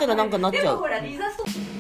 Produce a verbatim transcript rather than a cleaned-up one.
ったらなんかなっちゃう。 でもほらリザスト